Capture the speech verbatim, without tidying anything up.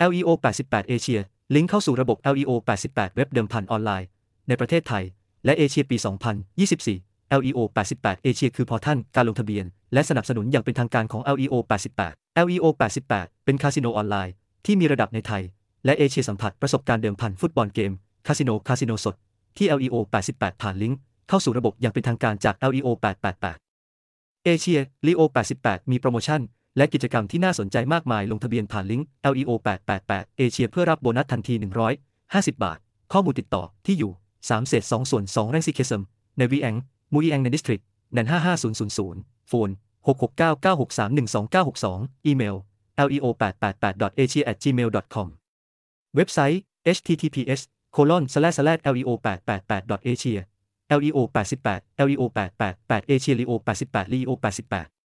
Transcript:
แอล อี โอ แปดสิบแปด เอเชียลิงก์เข้าสู่ระบบ แอล อี โอ แปดสิบแปด เว็บเดิมพันออนไลน์ในประเทศไทยและเอเชียปี สองพันยี่สิบสี่ แอล อี โอ แปดสิบแปด เอเชียคือพอร์ทัลการลงทะเบียนและสนับสนุนอย่างเป็นทางการของ แอล อี โอ แปดสิบแปด แอล อี โอ แปดสิบแปด เป็นคาสิโนออนไลน์ที่มีระดับในไทยและเอเชียสัมผัสประสบการณ์เดิมพันฟุตบอลเกมคาสิโนคาสิโนสดที่ แอล อี โอ แปดสิบแปด ผ่านลิงก์เข้าสู่ระบบอย่างเป็นทางการจาก แอล อี โอ แปดสิบแปด เอเชีย ลี โอ แปดสิบแปด มีโปรโมชั่นและกิจกรรมที่น่าสนใจมากมายลงทะเบียนผ่านลิงก์ แอล อี โอ แปดสิบแปด เอเชียเพื่อรับโบนัสทันทีหนึ่งร้อยห้าสิบบาทข้อมูลติดต่อที่อยู่สามเศษสองส่วนสองแรงซิเคซัมในวีแองมูอีแองในดิสทริกแนนห้าห้าศูนย์ศูนย์ศูนย์โฟนหกหกเก้าเก้าหกสามหนึ่งสองเก้าหกสองอีเมล แอล อี โอ แปดแปดแปด ดอท เอเชีย แอท จีเมล ดอท คอม เว็บไซต์ เอช ที ที พี เอส โคลอน สแลช สแลช แอล อี โอ แปดแปดแปด ดอท เอเชีย แอล อี โอ แปดสิบแปด แอล อี โอ แปดแปดแปด เอเชีย ลี โอ แปดสิบแปด ลี โอ แปดสิบแปด